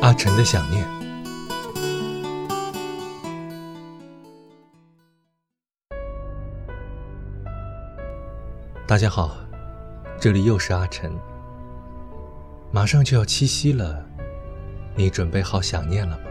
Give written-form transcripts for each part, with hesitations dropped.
阿晨的想念。大家好，这里又是阿晨。马上就要七夕了，你准备好想念了吗？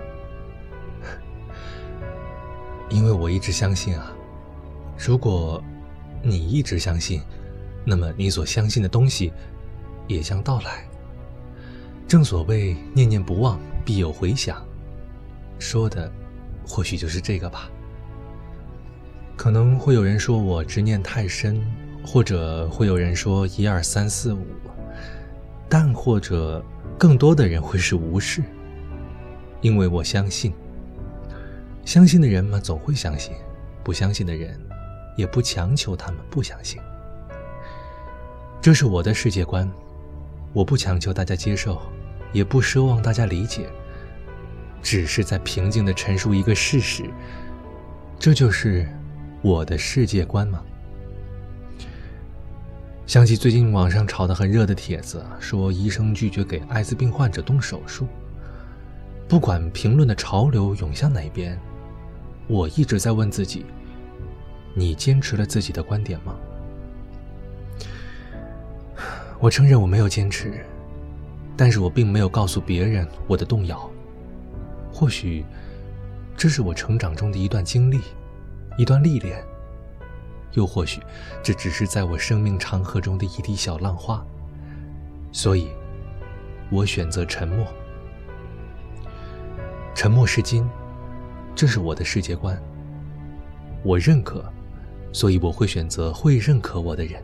因为我一直相信啊，如果你一直相信，那么你所相信的东西也将到来。正所谓念念不忘，必有回响，说的或许就是这个吧。可能会有人说我执念太深，或者会有人说1、2、3、4、5，但或者更多的人会是无视。因为我相信，相信的人嘛总会相信，不相信的人也不强求他们不相信。这是我的世界观，我不强求大家接受，也不奢望大家理解，只是在平静地陈述一个事实，这就是我的世界观吗？想起最近网上炒得很热的帖子，说医生拒绝给艾滋病患者动手术。不管评论的潮流涌向哪边，我一直在问自己，你坚持了自己的观点吗？我承认我没有坚持，但是我并没有告诉别人我的动摇。或许这是我成长中的一段经历，一段历练，又或许这只是在我生命长河中的一滴小浪花。所以我选择沉默。沉默是金，这是我的世界观。我认可，所以我会选择会认可我的人。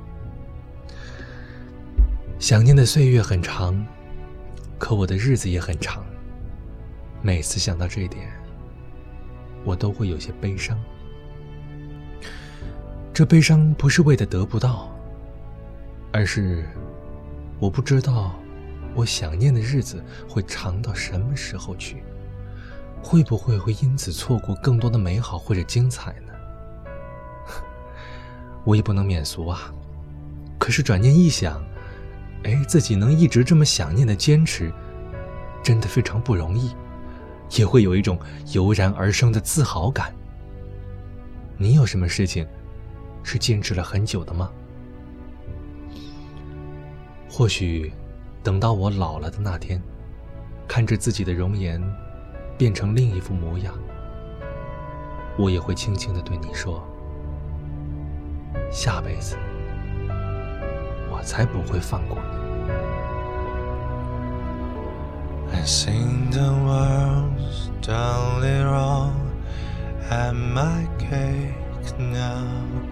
想念的岁月很长，可我的日子也很长。每次想到这一点，我都会有些悲伤。这悲伤不是为了得不到，而是我不知道我想念的日子会长到什么时候去，会不会因此错过更多的美好或者精彩呢？我也不能免俗啊。可是转念一想，自己能一直这么想念的坚持，真的非常不容易，也会有一种油然而生的自豪感。你有什么事情是坚持了很久的吗？或许等到我老了的那天，看着自己的容颜变成另一副模样，我也会轻轻地对你说，下辈子我才不会放过你。 I sing the words darling wrong at my cake now.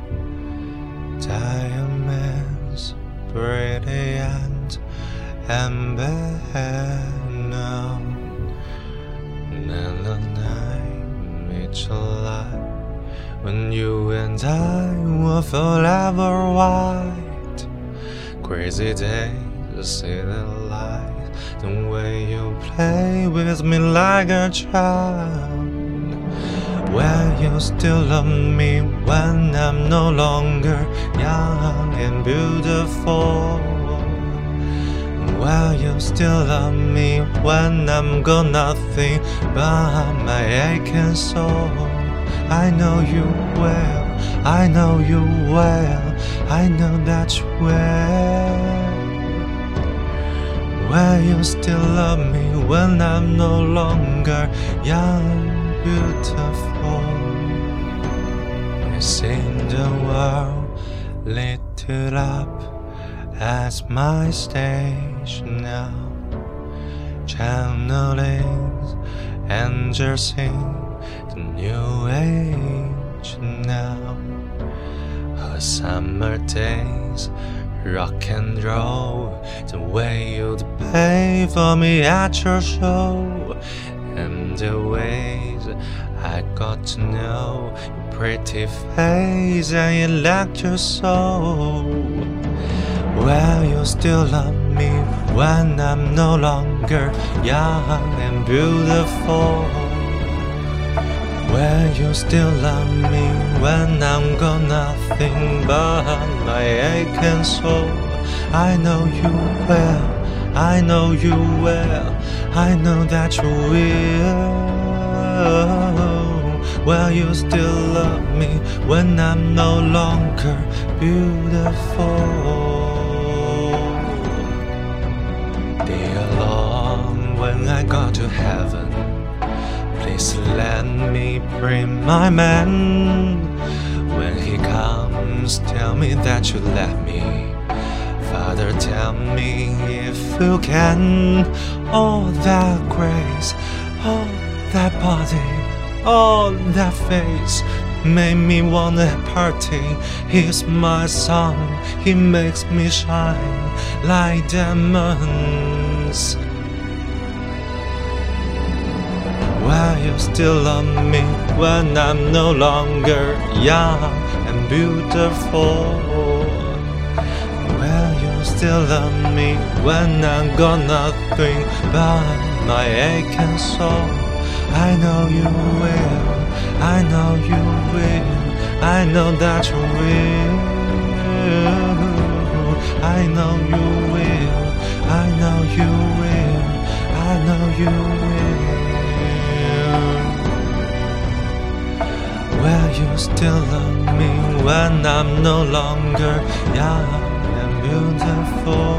Diamonds brilliant and bad now. And the night made July when you and I were forever white. Crazy days, see the light, the way you play with me like a child. Will you still love me when I'm no longer young and beautiful? Will you still love me when I'm got nothing but my aching soul? I know you will, I know you will, I know that you will. Will you still love me when I'm no longer young, beautiful? I seen the world lit it up as my stage now. Channelings, angels sing the new age now. Her summer days, rock and roll, the way you'd pay for me at your show, and the ways I got to know your pretty face and your lecture soul. Will you still love me when I'm no longer young and beautiful? Will you still love me when I'm got nothing but my aching soul? I know you will, I know you will, I know that you will. Will you still love me when I'm no longer beautiful? Dear Lord, when I go to heaven, please let me bring my man. When he comes, tell me that you left me. Father, tell me if you can. All that grace, all that body, all that face made me wanna party. He's my son, he makes me shine like diamonds. Will you still love me when I'm no longer young and beautiful? Will you still love me when I got nothing but my aching soul? I know you will, I know you will, I know that you will. I know you will, I know you will, I know you will. Will you still love me when I'm no longer young and beautiful?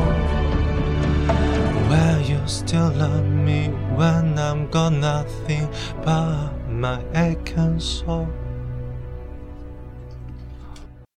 Will you still love me when I'm got nothing but my aching soul?